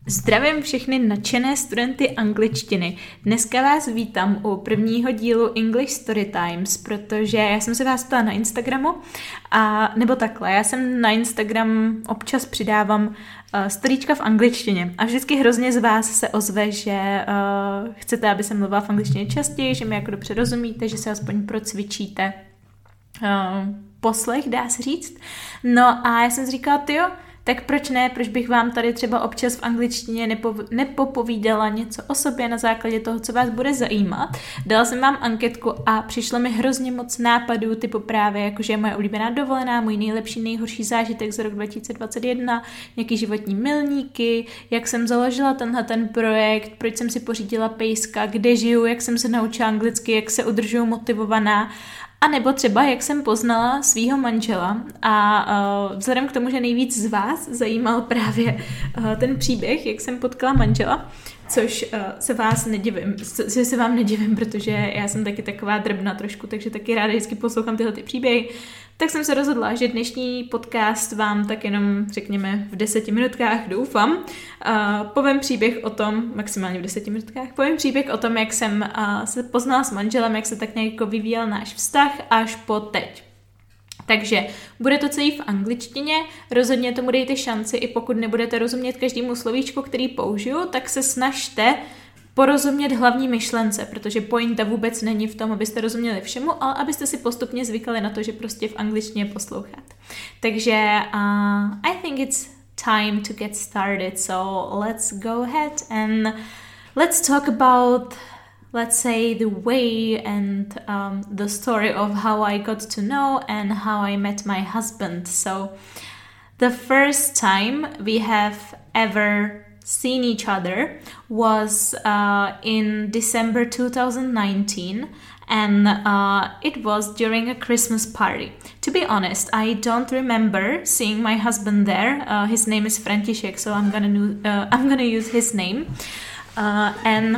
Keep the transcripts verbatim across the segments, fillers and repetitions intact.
Zdravím všechny nadšené studenty angličtiny. Dneska vás vítám u prvního dílu English Story Times, protože já jsem se vás ptala na Instagramu, a, nebo takhle, já jsem na Instagram občas přidávám uh, storíčka v angličtině a vždycky hrozně z vás se ozve, že uh, chcete, aby jsem mluvila v angličtině častěji, že mi jako dobře rozumíte, že se aspoň procvičíte uh, poslech, dá se říct. No a já jsem si říkala, tyjo, tak proč ne, proč bych vám tady třeba občas v angličtině nepo, nepopovídala něco o sobě na základě toho, co vás bude zajímat. Dala jsem vám anketku a přišlo mi hrozně moc nápadů, typu právě jakože moje oblíbená dovolená, můj nejlepší, nejhorší zážitek z roku dva tisíce dvacet jedna, nějaký životní milníky, jak jsem založila tenhle ten projekt, proč jsem si pořídila pejska, kde žiju, jak jsem se naučila anglicky, jak se udržuju motivovaná. A nebo třeba, jak jsem poznala svýho manžela a uh, vzhledem k tomu, že nejvíc z vás zajímal právě uh, ten příběh, jak jsem potkala manžela, což uh, se vás nedivím, že se vám nedivím, protože já jsem taky taková drbna trošku, takže taky ráda vždycky poslouchám tyhle ty příběhy, tak jsem se rozhodla, že dnešní podcast vám tak jenom, řekněme, v deseti minutkách, doufám, uh, povím příběh o tom, maximálně v deseti minutkách, povím příběh o tom, jak jsem uh, se poznala s manželem, jak se tak nějak vyvíjel náš vztah až po teď. Takže bude to celý v angličtině, rozhodně tomu dejte šanci, i pokud nebudete rozumět každému slovíčku, který použiju, tak se snažte porozumět hlavní myšlence, protože pointa vůbec není v tom, abyste rozuměli všemu, ale abyste si postupně zvykali na to, že prostě v angličtině poslouchat. Takže uh, I think it's time to get started, so let's go ahead and let's talk about, let's say, the way and um, the story of how I got to know and how I met my husband. So the first time we have ever seen each other was uh, in December two thousand nineteen, and uh, it was during a Christmas party. To be honest, I don't remember seeing my husband there. Uh, his name is František, so I'm gonna uh, I'm gonna use his name. Uh, and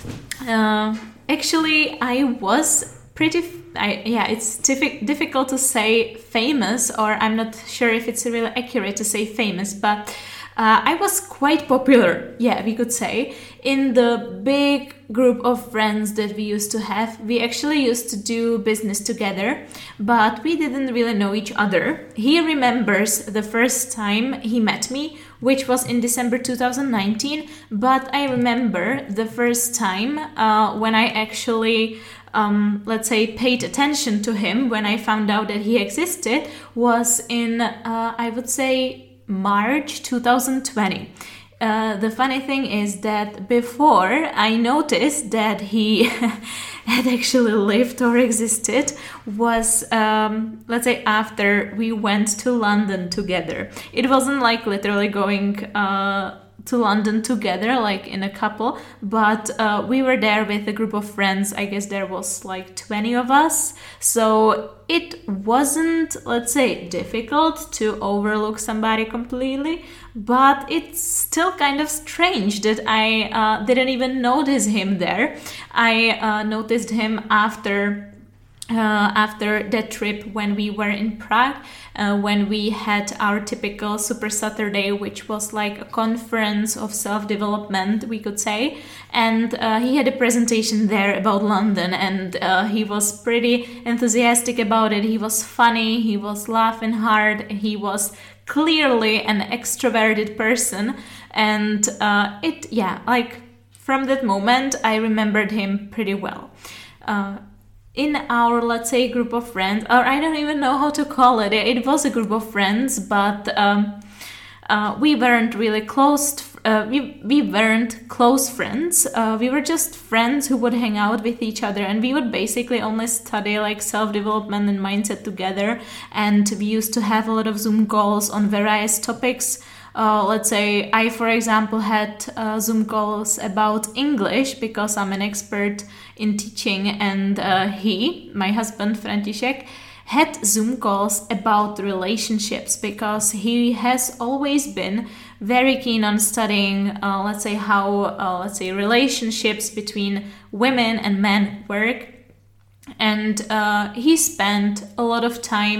uh, actually, I was pretty. I, yeah, it's diffi- difficult to say famous, or I'm not sure if it's really accurate to say famous, but Uh, I was quite popular, yeah, we could say, in the big group of friends that we used to have. We actually used to do business together, but we didn't really know each other. He remembers the first time he met me, which was in December two thousand nineteen, but I remember the first time uh, when I actually Um, let's say, paid attention to him, when I found out that he existed, was in, uh, I would say, March two thousand twenty. Uh, the funny thing is that before I noticed that he had actually lived or existed was, um, let's say, after we went to London together. It wasn't like literally going uh, to London together, like in a couple, but uh, we were there with a group of friends. I guess there was like twenty of us, so it wasn't, let's say, difficult to overlook somebody completely, but it's still kind of strange that I uh, didn't even notice him there. I uh, noticed him after Uh, after that trip when we were in Prague, uh, when we had our typical Super Saturday, which was like a conference of self-development, we could say, and uh, he had a presentation there about London, and uh, he was pretty enthusiastic about it. He was funny, he was laughing hard, he was clearly an extroverted person, and uh, it, yeah, like from that moment I remembered him pretty well. Uh, In our, let's say, group of friends, or I don't even know how to call it, it was a group of friends, but um, uh, we weren't really close, uh, we, we weren't close friends, uh, we were just friends who would hang out with each other, and we would basically only study like self-development and mindset together, and we used to have a lot of Zoom calls on various topics. Uh, let's say I, for example, had uh, Zoom calls about English because I'm an expert in teaching, and uh, he, my husband František, had Zoom calls about relationships because he has always been very keen on studying, uh, let's say, how, uh, let's say, relationships between women and men work. And uh, he spent a lot of time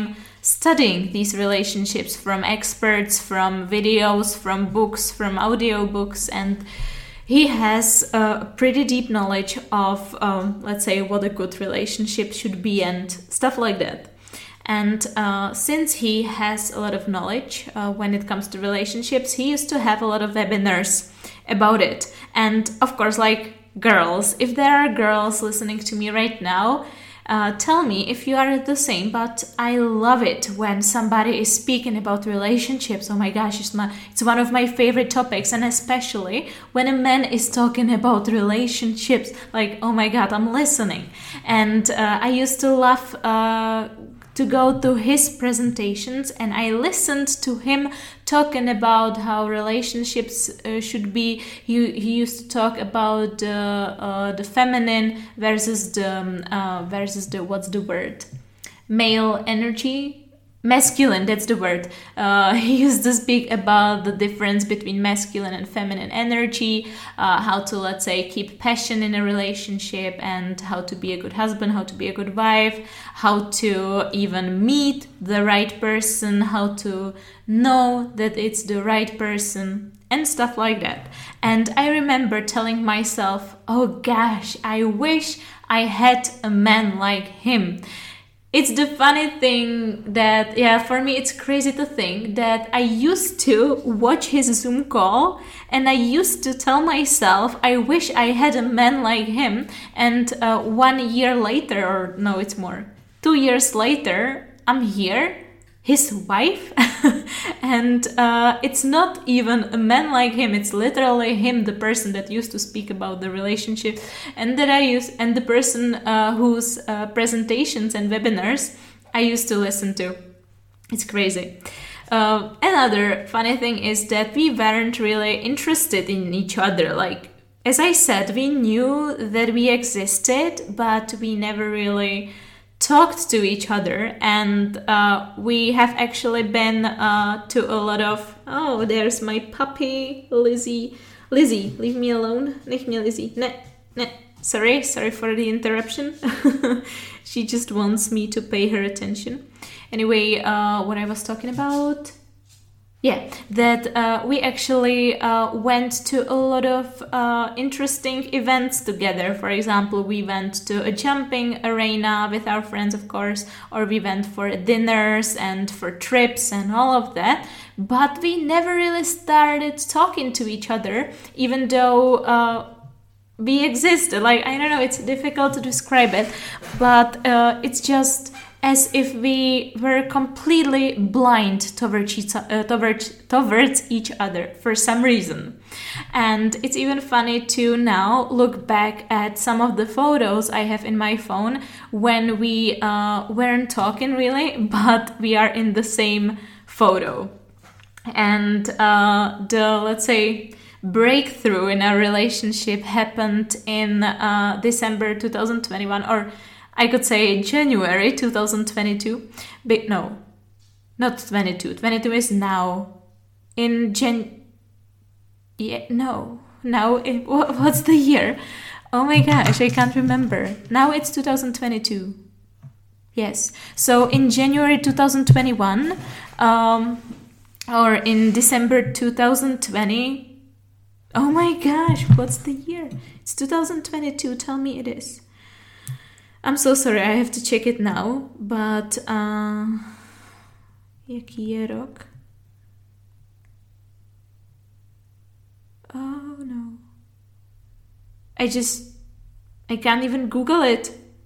studying these relationships from experts, from videos, from books, from audiobooks, and he has a pretty deep knowledge of, um, let's say, what a good relationship should be and stuff like that. And uh, since he has a lot of knowledge uh, when it comes to relationships, he used to have a lot of webinars about it. And of course, like girls, if there are girls listening to me right now, uh, tell me if you are the same. But I love it when somebody is speaking about relationships. Oh my gosh, it's, my, it's one of my favorite topics. And especially when a man is talking about relationships, like, oh my God, I'm listening. And uh, I used to love uh, to go to his presentations, and I listened to him talking about how relationships uh, should be. He, he used to talk about uh, uh, the feminine versus the um, uh, versus the what's the word male energy. Masculine, that's the word. Uh, he used to speak about the difference between masculine and feminine energy, uh, how to, let's say, keep passion in a relationship, and how to be a good husband, how to be a good wife, how to even meet the right person, how to know that it's the right person, and stuff like that. And I remember telling myself, oh gosh, I wish I had a man like him. It's the funny thing that, yeah, for me it's crazy to think that I used to watch his Zoom call and I used to tell myself, I wish I had a man like him. And uh, one year later, or no, it's more, two years later, I'm here, his wife, and uh, it's not even a man like him. It's literally him, the person that used to speak about the relationship, and that I use, and the person uh, whose uh, presentations and webinars I used to listen to. It's crazy. Uh, another funny thing is that we weren't really interested in each other. Like, as I said, we knew that we existed, but we never really talked to each other. And uh, we have actually been uh, to a lot of, oh, there's my puppy, Lizzie. Lizzie, leave me alone. Nech mě Lizzie. Ne, ne. Sorry, sorry for the interruption. She just wants me to pay her attention. Anyway, uh, what I was talking about? Yeah, that uh, we actually uh, went to a lot of uh, interesting events together. For example, we went to a jumping arena with our friends, of course, or we went for dinners and for trips and all of that. But we never really started talking to each other, even though uh, we existed. Like, I don't know, it's difficult to describe it, but uh, it's just as if we were completely blind towards each, uh, towards, towards each other for some reason. And it's even funny to now look back at some of the photos I have in my phone when we uh, weren't talking really, but we are in the same photo. And uh, the, let's say, breakthrough in our relationship happened in uh, December two thousand twenty-one, or I could say January two thousand twenty-two, but no, not twenty-two. twenty-two is now. In Jan... Yeah, no. Now, it, what's the year? Oh my gosh, I can't remember. Now it's two thousand twenty-two. Yes. So in January two thousand twenty-one, um, or in December two thousand twenty... Oh my gosh, what's the year? It's two thousand twenty-two, tell me it is. I'm so sorry, I have to check it now, but uh, jaký je rok? Oh no. I just, I can't even Google it.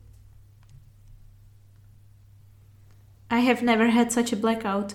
I have never had such a blackout.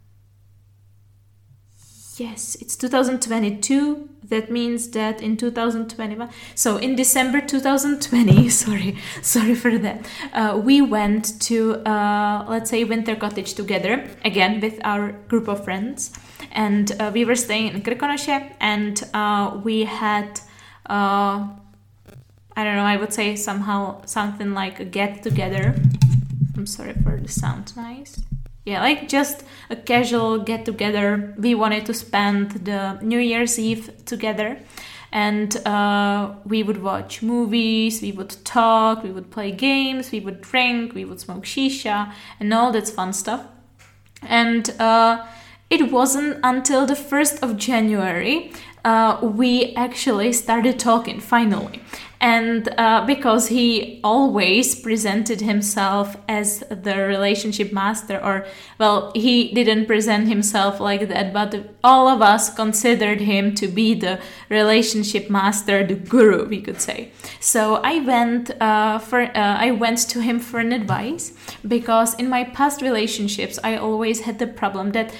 Yes, it's two thousand twenty-two. That means that in two thousand twenty-one, so in December two thousand twenty, sorry, sorry for that, uh, we went to, uh, let's say, winter cottage together, again, with our group of friends. And uh, we were staying in Krkonoše, and uh, we had, uh, I don't know, I would say somehow something like a get-together. I'm sorry for the sound noise. Yeah, like just a casual get-together. We wanted to spend the New Year's Eve together, and uh, we would watch movies, we would talk, we would play games, we would drink, we would smoke shisha, and all that fun stuff. And uh, it wasn't until the first of January uh, we actually started talking finally. And uh, because he always presented himself as the relationship master, or, well, he didn't present himself like that, but all of us considered him to be the relationship master, the guru, we could say. So I went uh, for uh, I went to him for an advice, because in my past relationships I always had the problem that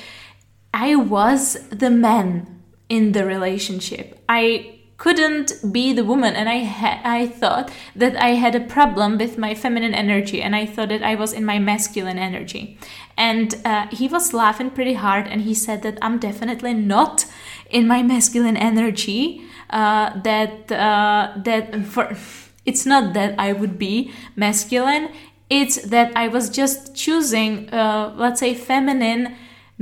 I was the man in the relationship. I couldn't be the woman, and I ha- I thought that I had a problem with my feminine energy, and I thought that I was in my masculine energy. And uh, he was laughing pretty hard, and he said that I'm definitely not in my masculine energy. Uh, that uh, that for it's not that I would be masculine. It's that I was just choosing, uh, let's say, feminine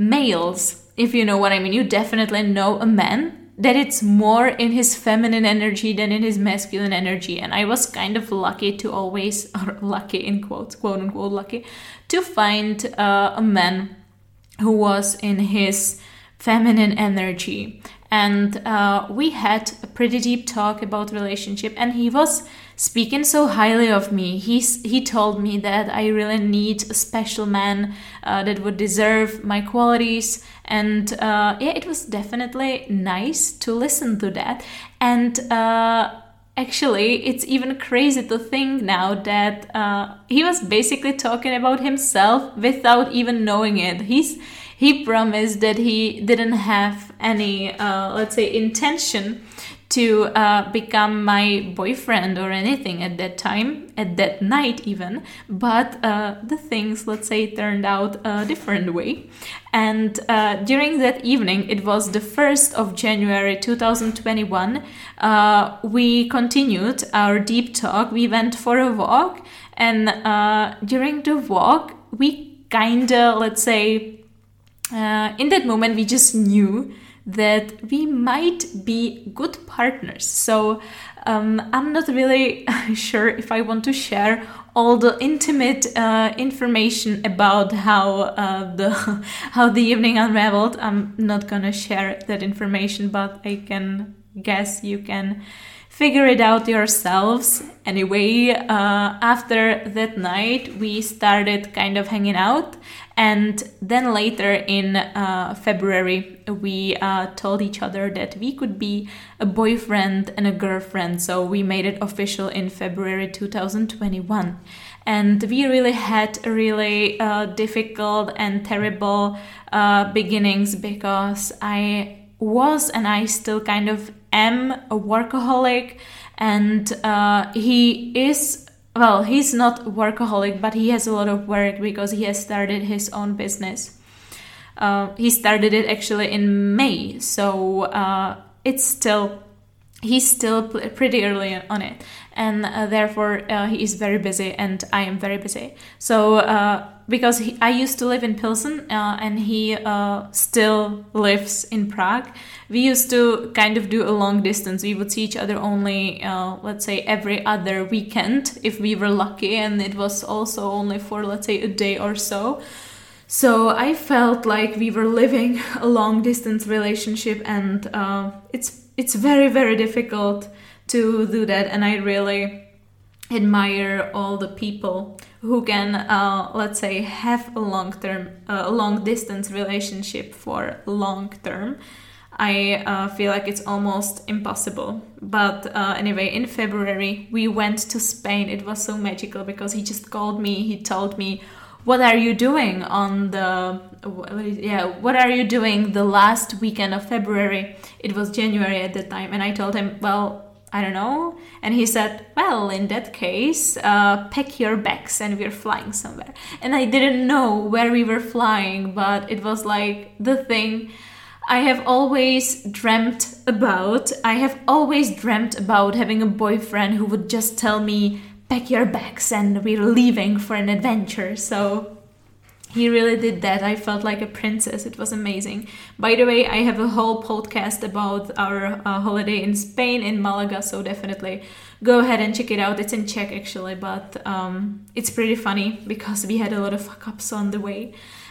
males. If you know what I mean, you definitely know a man that it's more in his feminine energy than in his masculine energy. And I was kind of lucky to always, or lucky in quotes, quote unquote lucky, to find uh, a man who was in his feminine energy. And uh, we had a pretty deep talk about relationship, and he was speaking so highly of me. He's, he told me that I really need a special man uh, that would deserve my qualities. And uh, yeah, it was definitely nice to listen to that. And uh, actually, it's even crazy to think now that uh, he was basically talking about himself without even knowing it. He's He promised that he didn't have any, uh, let's say, intention to uh, become my boyfriend or anything at that time, at that night even, but uh, the things, let's say, turned out a different way. And uh, during that evening, it was the first of January two thousand twenty-one, uh, we continued our deep talk. We went for a walk, and uh, during the walk, we kinda, let's say, Uh, in that moment, we just knew that we might be good partners. So um, I'm not really sure if I want to share all the intimate uh, information about how uh, the how the evening unraveled. I'm not gonna share that information, but I can guess you can figure it out yourselves. Anyway, uh, after that night, we started kind of hanging out. And then later in uh, February, we uh, told each other that we could be a boyfriend and a girlfriend. So we made it official in February two thousand twenty-one. And we really had really uh, difficult and terrible uh, beginnings, because I was, and I still kind of am, a workaholic. And uh, he is... Well, he's not workaholic, but he has a lot of work because he has started his own business. Uh, he started it actually in May, so uh, it's still, he's still pl- pretty early on it. And uh, therefore, uh, he is very busy, and I am very busy. So, uh, because he, I used to live in Pilsen, uh, and he uh, still lives in Prague, we used to kind of do a long distance. We would see each other only, uh, let's say, every other weekend, if we were lucky, and it was also only for, let's say, a day or so. So I felt like we were living a long distance relationship, and uh, it's it's very, very difficult to do that. And I really admire all the people who can, uh, let's say, have a long-term, uh, long-distance relationship for long-term. I uh, feel like it's almost impossible. But uh, anyway, in February, we went to Spain. It was so magical because he just called me. He told me, what are you doing on the, yeah, what are you doing the last weekend of February? It was January at that time. And I told him, well, I don't know. And he said, well, in that case, uh, pack your bags and we're flying somewhere. And I didn't know where we were flying, but it was like the thing I have always dreamt about. I have always dreamt about having a boyfriend who would just tell me, pack your bags and we're leaving for an adventure. So he really did that. I felt like a princess. It was amazing. By the way, I have a whole podcast about our uh, holiday in Spain, in Malaga, so definitely go ahead and check it out. It's in Czech actually, but um, it's pretty funny because we had a lot of fuck-ups on the way.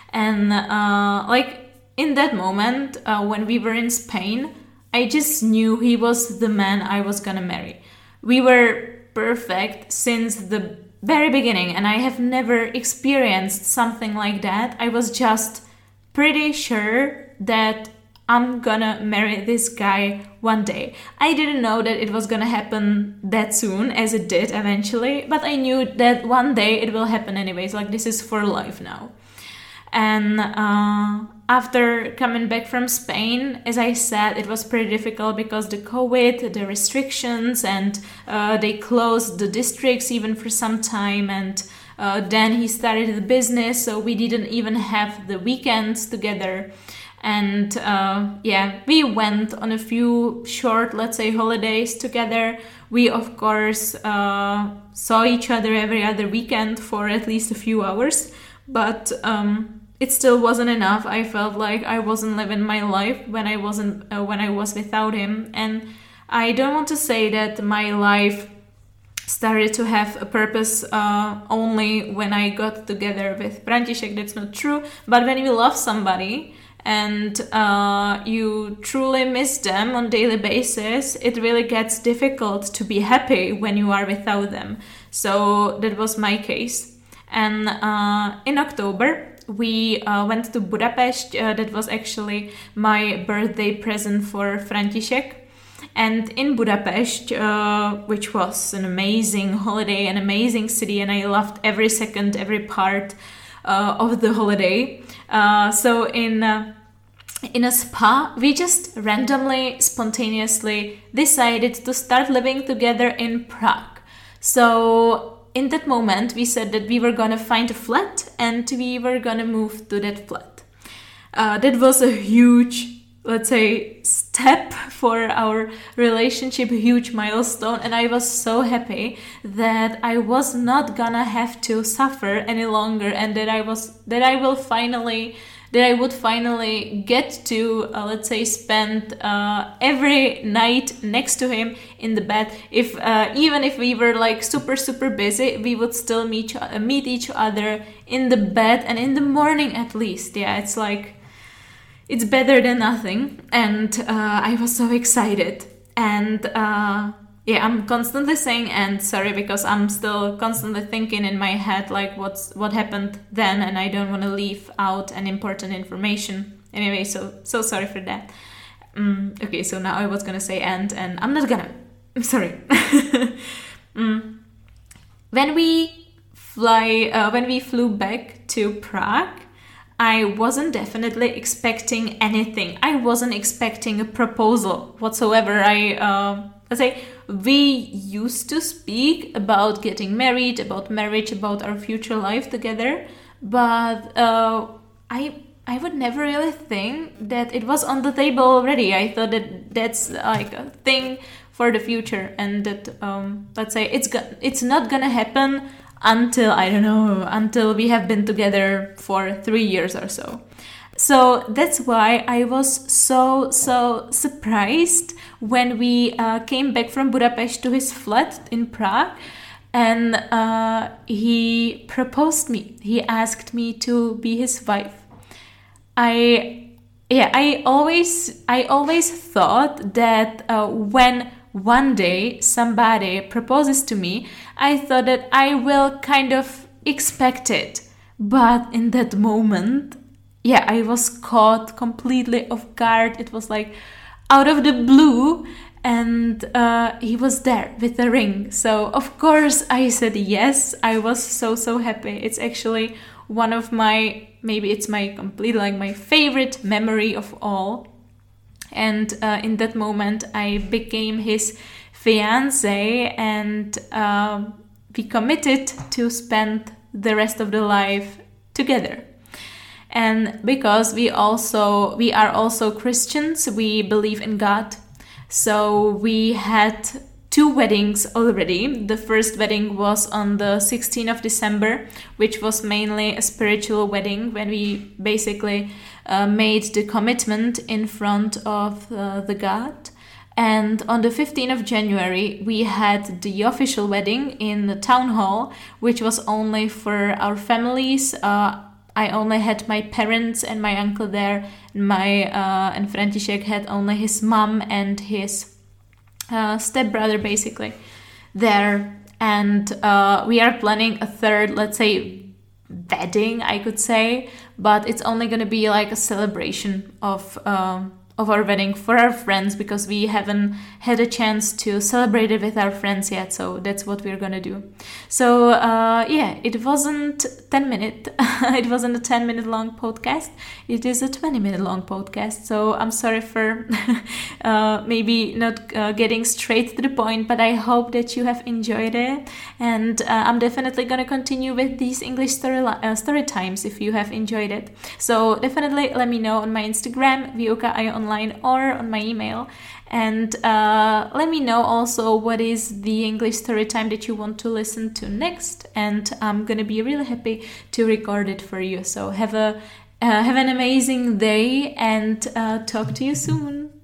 And uh, like in that moment, uh, when we were in Spain, I just knew he was the man I was gonna marry. We were perfect since the very beginning, and I have never experienced something like that. I was just pretty sure that I'm gonna marry this guy one day. I didn't know that it was gonna happen that soon, as it did eventually, but I knew that one day it will happen anyways. Like, this is for life now. And uh, after coming back from Spain, as I said, it was pretty difficult because the COVID, the restrictions, and uh, they closed the districts even for some time. And uh, then he started the business, so we didn't even have the weekends together. And uh, yeah, we went on a few short, let's say, holidays together. We, of course, uh, saw each other every other weekend for at least a few hours, but um, it still wasn't enough. I felt like I wasn't living my life when I wasn't uh, when I was without him. And I don't want to say that my life started to have a purpose uh, only when I got together with František. That's not true. But when you love somebody and uh, you truly miss them on a daily basis, it really gets difficult to be happy when you are without them. So that was my case. And uh, in October, we uh, went to Budapest. Uh, that was actually my birthday present for František. And in Budapest, uh, which was an amazing holiday, an amazing city, and I loved every second, every part uh, of the holiday. Uh, so in uh, in a spa, we just randomly, spontaneously decided to start living together in Prague. So in that moment, we said that we were gonna find a flat and we were gonna move to that flat. Uh, that was a huge, let's say, step for our relationship, a huge milestone, and I was so happy that I was not gonna have to suffer any longer, and that I was that I will finally that I would finally get to uh, let's say spend uh, every night next to him in the bed. If uh, even if we were like super super busy, we would still meet uh, meet each other in the bed, and in the morning at least. Yeah, it's like, it's better than nothing. And uh, I was so excited. And uh, yeah, I'm constantly saying and sorry, because I'm still constantly thinking in my head like what's what happened then, and I don't want to leave out an important information. Anyway, so so sorry for that. Um, okay, so now I was gonna say and, and I'm not gonna. I'm sorry. um, when we fly, uh, when we flew back to Prague, I wasn't definitely expecting anything. I wasn't expecting a proposal whatsoever. I, uh, let's say, we used to speak about getting married, about marriage, about our future life together, but uh, I I would never really think that it was on the table already. I thought that that's like a thing for the future, and that um, let's say it's go- it's not gonna happen until, I don't know, until we have been together for three years or so. So that's why I was so, so surprised when we uh, came back from Budapest to his flat in Prague, and uh, he proposed me. He asked me to be his wife. I, yeah, I always, I always thought that uh, when one day somebody proposes to me, I thought that I will kind of expect it. But in that moment, yeah, I was caught completely off guard. It was like out of the blue, and uh, he was there with the ring. So of course I said yes. I was so, so happy. It's actually one of my, maybe it's my complete, like my favorite memory of all. And uh, in that moment, I became his fiancé, and uh, we committed to spend the rest of the life together. And because we also we are also Christians, we believe in God. So we had two weddings already. The first wedding was on the sixteenth of December, which was mainly a spiritual wedding, when we basically uh, made the commitment in front of uh, the God. And on the fifteenth of January, we had the official wedding in the town hall, which was only for our families, uh, I only had my parents and my uncle there. My uh, and František had only his mom and his uh, stepbrother basically there. And uh, we are planning a third, let's say, wedding, I could say, but it's only going to be like a celebration of um, of our wedding for our friends, because we haven't had a chance to celebrate it with our friends yet. So that's what we're gonna do. So uh, yeah, it wasn't ten minute. It wasn't a ten minute long podcast. It is a twenty minute long podcast. So I'm sorry for uh, maybe not uh, getting straight to the point, but I hope that you have enjoyed it. And uh, I'm definitely gonna continue with these English story uh, story times if you have enjoyed it. So definitely let me know on my Instagram, Výuka aj online, or on my email, and uh, let me know also what is the English story time that you want to listen to next, and I'm gonna be really happy to record it for you. So have a uh, have an amazing day, and uh, talk to you soon.